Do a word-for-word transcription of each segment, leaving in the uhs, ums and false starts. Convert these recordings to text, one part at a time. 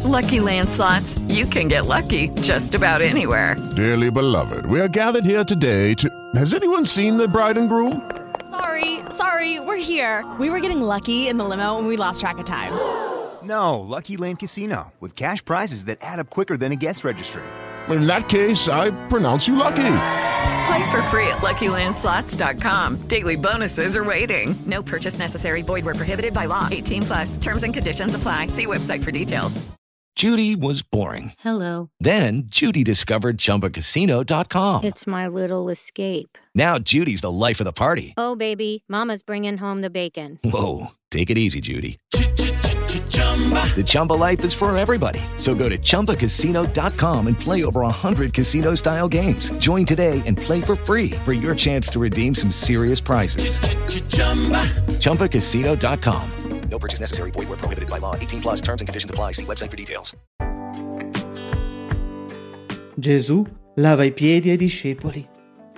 Lucky Land Slots, you can get lucky just about anywhere. Dearly beloved, we are gathered here today to... Has anyone seen the bride and groom? Sorry, sorry, we're here. We were getting lucky in the limo and we lost track of time. No, Lucky Land Casino, with cash prizes that add up quicker than a guest registry. In that case, I pronounce you lucky. Play for free at Lucky Land Slots dot com. Daily bonuses are waiting. No purchase necessary. Void where prohibited by law. eighteen plus. Terms and conditions apply. See website for details. Judy was boring. Hello. Then Judy discovered Chumba Casino dot com. It's my little escape. Now Judy's the life of the party. Oh, baby, mama's bringing home the bacon. Whoa, take it easy, Judy. The Chumba life is for everybody. So go to Chumba Casino dot com and play over one hundred casino-style games. Join today and play for free for your chance to redeem some serious prizes. Chumba Casino dot com. No purchase necessary. Void where prohibited by law. eighteen plus. Terms and conditions apply. See website for details. Gesù lava i piedi ai discepoli.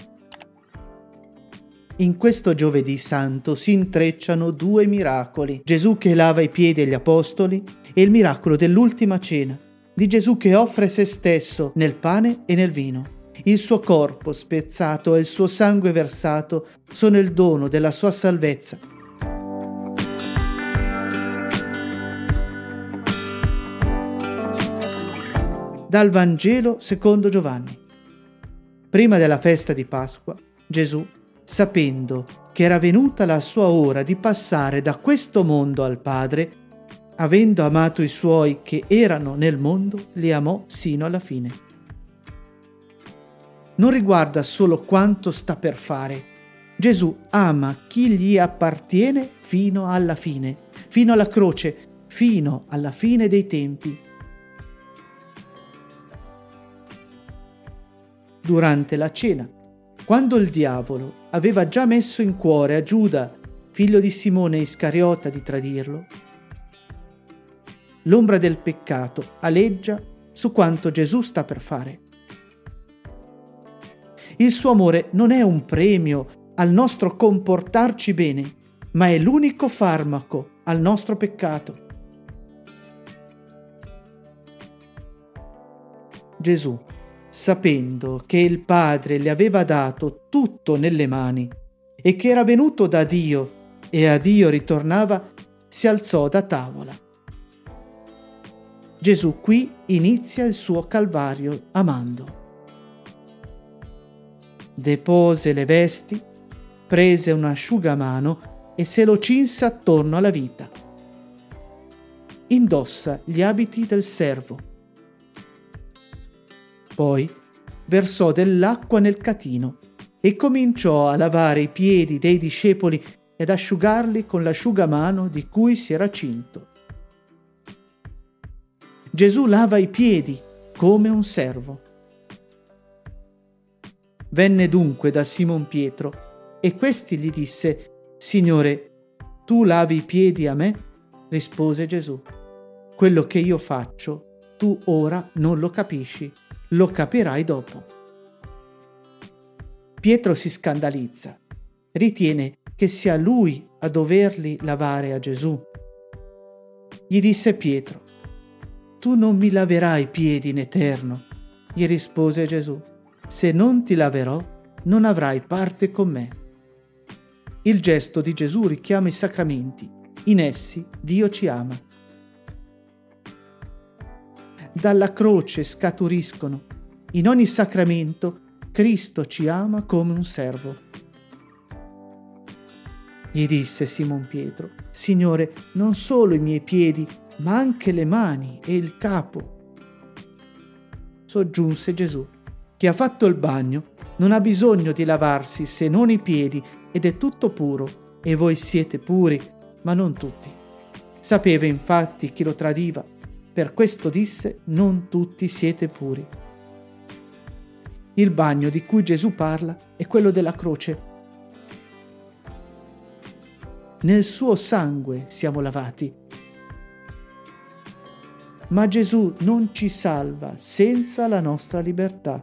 In questo giovedì santo si intrecciano due miracoli: Gesù che lava i piedi agli apostoli e il miracolo dell'ultima cena, di Gesù che offre se stesso nel pane e nel vino. Il suo corpo spezzato e il suo sangue versato sono il dono della sua salvezza. Dal Vangelo secondo Giovanni. Prima della festa di Pasqua, Gesù, sapendo che era venuta la sua ora di passare da questo mondo al Padre, avendo amato i suoi che erano nel mondo, li amò sino alla fine. Non riguarda solo quanto sta per fare. Gesù ama chi gli appartiene fino alla fine, fino alla croce, fino alla fine dei tempi. Durante la cena, quando il diavolo aveva già messo in cuore a Giuda, figlio di Simone Iscariota, di tradirlo, l'ombra del peccato aleggia su quanto Gesù sta per fare. Il suo amore non è un premio al nostro comportarci bene, ma è l'unico farmaco al nostro peccato. Gesù, sapendo che il Padre le aveva dato tutto nelle mani e che era venuto da Dio e a Dio ritornava, si alzò da tavola. Gesù qui inizia il suo calvario amando. Depose le vesti, prese un asciugamano e se lo cinse attorno alla vita. Indossa gli abiti del servo. Poi versò dell'acqua nel catino e cominciò a lavare i piedi dei discepoli ed asciugarli con l'asciugamano di cui si era cinto. Gesù lava i piedi come un servo. Venne dunque da Simon Pietro e questi gli disse: «Signore, tu lavi i piedi a me?» Rispose Gesù: «Quello che io faccio tu ora non lo capisci, lo capirai dopo». Pietro si scandalizza, ritiene che sia lui a doverli lavare a Gesù. Gli disse Pietro: «Tu non mi laverai i piedi in eterno». Gli rispose Gesù: «Se non ti laverò, non avrai parte con me». Il gesto di Gesù richiama i sacramenti, in essi Dio ci ama. Dalla croce scaturiscono. In ogni sacramento Cristo ci ama come un servo. Gli disse Simon Pietro: «Signore, non solo i miei piedi, ma anche le mani e il capo». Soggiunse Gesù: «Chi ha fatto il bagno non ha bisogno di lavarsi se non i piedi ed è tutto puro, e voi siete puri, ma non tutti». Sapeva infatti chi lo tradiva. Per questo disse: «Non tutti siete puri». Il bagno di cui Gesù parla è quello della croce. Nel suo sangue siamo lavati. Ma Gesù non ci salva senza la nostra libertà.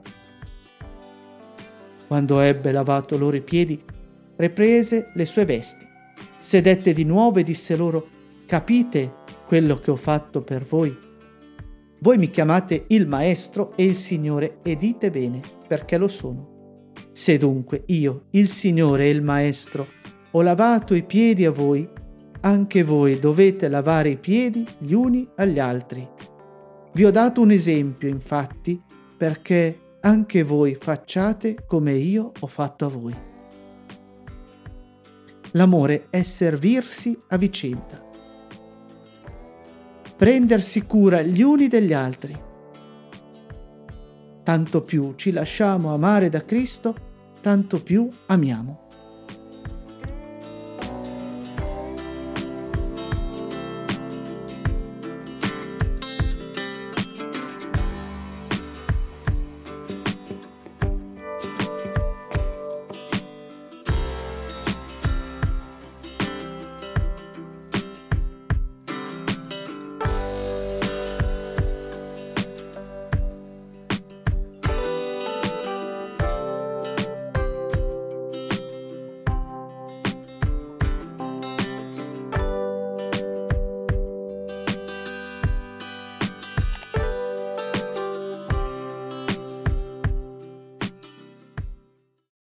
Quando ebbe lavato loro i piedi, riprese le sue vesti, sedette di nuovo e disse loro: «Capite quello che ho fatto per voi? Voi mi chiamate il Maestro e il Signore e dite bene, perché lo sono. Se dunque io, il Signore e il Maestro, ho lavato i piedi a voi, anche voi dovete lavare i piedi gli uni agli altri. Vi ho dato un esempio, infatti, perché anche voi facciate come io ho fatto a voi. L'amore è servirsi a vicenda, prendersi cura gli uni degli altri. Tanto più ci lasciamo amare da Cristo, tanto più amiamo.